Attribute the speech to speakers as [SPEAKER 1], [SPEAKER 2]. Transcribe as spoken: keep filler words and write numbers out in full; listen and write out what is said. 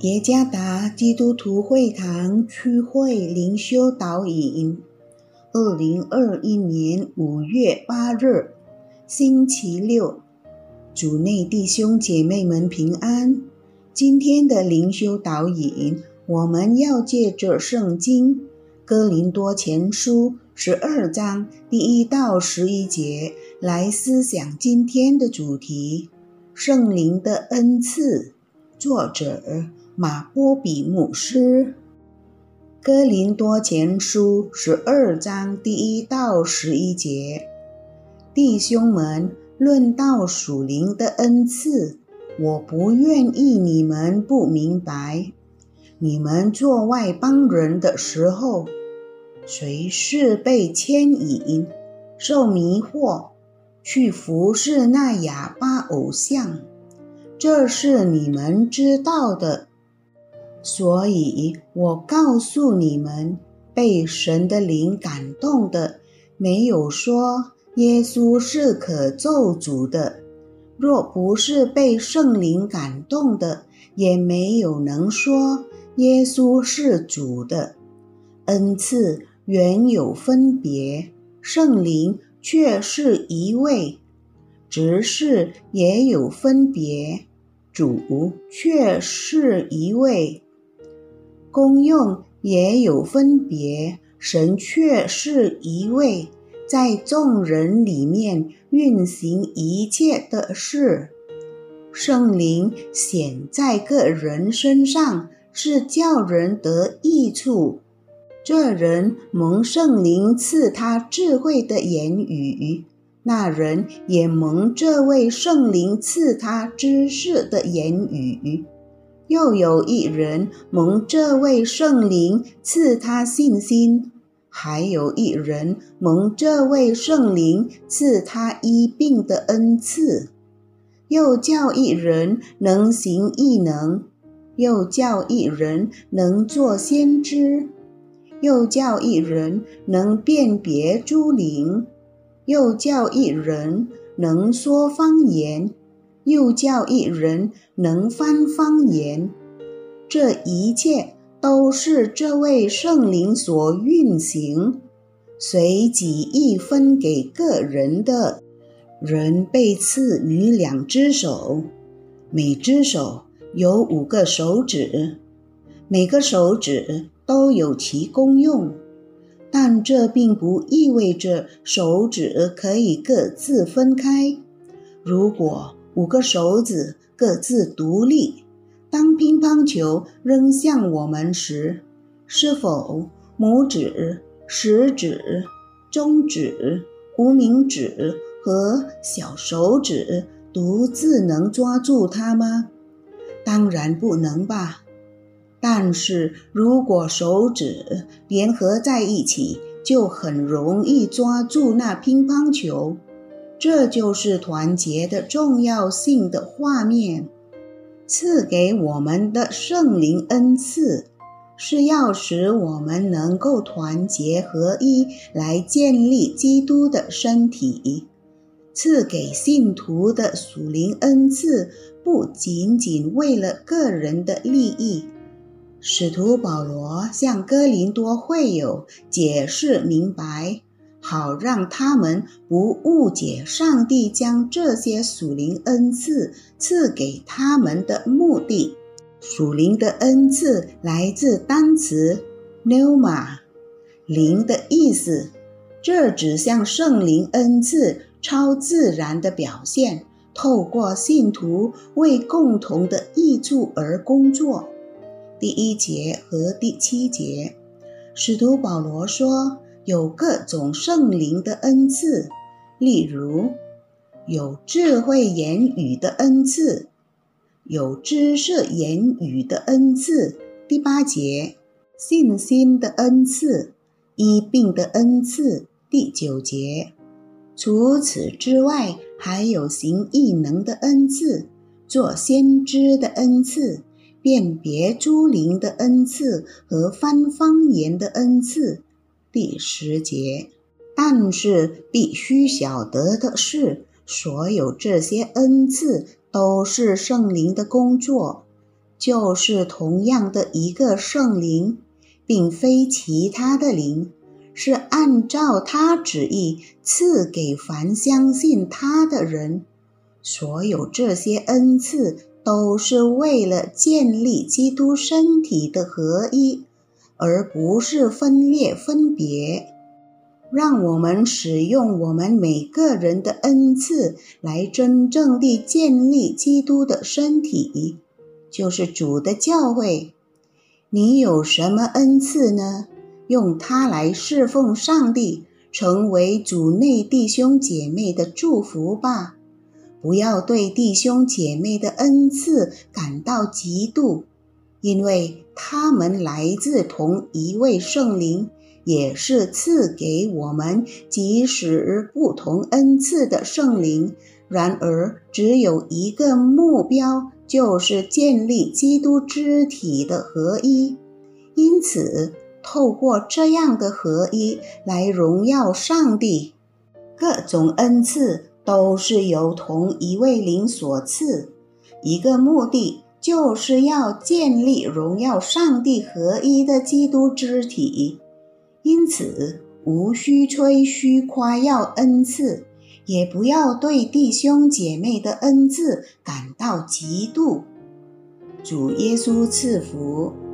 [SPEAKER 1] 耶加达基督徒会堂区会灵修导引，二零二一年五月八日，星期六，主内弟兄姐妹们平安。今天的灵修导引，我们要借着圣经哥林多前书十二章第一到十一节来思想今天的主题：圣灵的恩赐。作者马波比牧师。哥林多前书十二章第一到十一节，弟兄们，论到属灵的恩赐，我不愿意你们不明白。你们做外邦人的时候，谁是被牵引、受迷惑，去服侍那哑巴偶像？这是你们知道的。所以我告诉你们，被神的灵感动的，没有说耶稣是可咒诅的；若不是被圣灵感动的，也没有能说耶稣是主的。恩赐原有分别，圣灵却是一位；执事也有分别，主却是一位；功用也有分别，神却是一位，在众人里面运行一切的事。圣灵显在个人身上，是叫人得益处。这人蒙圣灵赐他智慧的言语，那人也蒙这位圣灵赐他知识的言语。又有一人蒙这位圣灵赐他信心，还有一人蒙这位圣灵赐他医病的恩赐。又叫一人能行异能，又叫一人能做先知，又叫一人能辨别诸灵，又叫一人能说方言，又叫一人能翻方言。这一切都是这位圣灵所运行，随己意分给个人的。人被赐予两只手，每只手有五个手指，每个手指都有其功用，但这并不意味着手指可以各自分开。如果五个手指各自独立，当乒乓球扔向我们时，是否拇指、食指、中指、无名指和小手指独自能抓住它吗？当然不能吧。但是如果手指联合在一起，就很容易抓住那乒乓球。这就是团结的重要性的画面。赐给我们的圣灵恩赐，是要使我们能够团结合一，来建立基督的身体。赐给信徒的属灵恩赐，不仅仅为了个人的利益。使徒保罗向哥林多会友解释明白，好让他们不误解上帝将这些属灵恩赐赐给他们的目的。属灵的恩赐来自单词 pneuma， 灵的意思。这指向圣灵恩赐超自然的表现，透过信徒为共同的益处而工作。第一节和第七节，使徒保罗说，有各种圣灵的恩赐，例如有智慧言语的恩赐，有知识言语的恩赐。第八节，信心的恩赐，医病的恩赐。第九节，除此之外，还有行异能的恩赐，做先知的恩赐，辨别诸灵的恩赐和翻方言的恩赐。第十节，但是必须晓得的是，所有这些恩赐都是圣灵的工作， 就是同样的一个圣灵，并非其他的灵，是按照他旨意赐给凡相信他的人。所有这些恩赐都是为了建立基督身体的合一，而不是分裂分别。让我们使用我们每个人的恩赐来真正地建立基督的身体，就是主的教会。你有什么恩赐呢？用它来侍奉上帝，成为主内弟兄姐妹的祝福吧。不要对弟兄姐妹的恩赐感到嫉妒，因为他们来自同一位圣灵，也是赐给我们即使不同恩赐的圣灵。然而只有一个目标，就是建立基督肢体的合一。因此透过这样的合一来荣耀上帝。各种恩赐都是由同一位灵所赐，一个目的就是要建立荣耀上帝合一的基督肢体。因此无需吹嘘夸耀恩赐，也不要对弟兄姐妹的恩赐感到嫉妒。主耶稣赐福。